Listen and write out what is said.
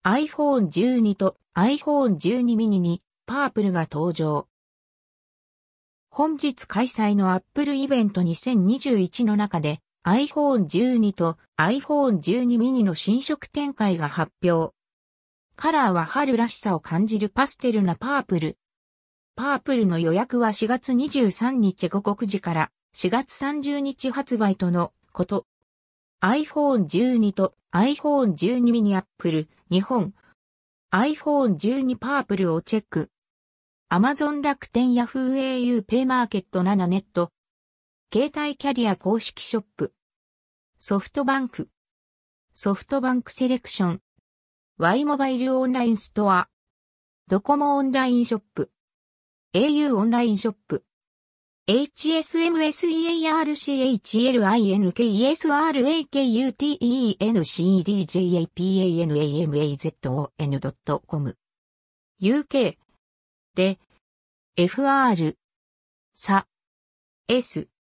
iPhone 12と iPhone 12 mini にパープルが登場。本日開催の Apple イベント2021の中で iPhone 12と iPhone 12 mini の新色展開が発表。カラーは春らしさを感じるパステルなパープル。パープルの予約は4月23日午後9時から4月30日発売とのこと。iPhone 12と iPhone 12 mini Apple 日本 iPhone 12パープルをチェック。Amazon 楽天 Yahoo au ペイマーケット7ネット。携帯キャリア公式ショップ。ソフトバンクセレクション。Y モバイルオンラインストア。ドコモオンラインショップ。au オンラインショップ。hsmsERCHLINKSRAKUTENCDJAPANAMAZON.com UK で FR さ S